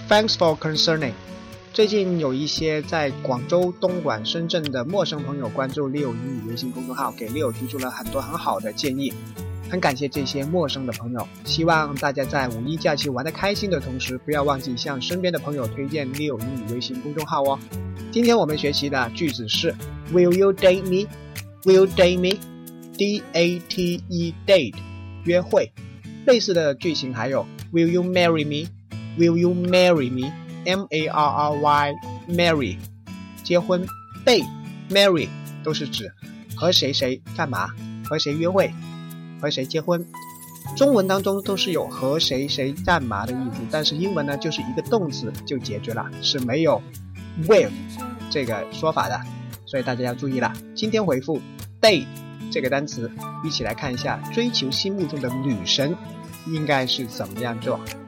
Thanks for concerning。最近有一些在广州、东莞、深圳的陌生朋友关注 Leo 英语微信公众号，给 Leo 提出了很多很好的建议，很感谢这些陌生的朋友。希望大家在五一假期玩得开心的同时，不要忘记向身边的朋友推荐 Leo 英语微信公众号哦。今天我们学习的句子是 Will you date me? Will you date me? D-A-T-E date 约会。类似的句型还有 Will you marry me? Will you marry me? M-A-R-R-Y marry 结婚。 date marry 都是指和谁谁干嘛，和谁约会，和谁结婚。中文当中都是有和谁谁干嘛的意思，但是英文呢就是一个动词就解决了，是没有 will 这个说法的，所以大家要注意了。今天回复 date 这个单词，一起来看一下追求心目中的女神应该是怎么样做。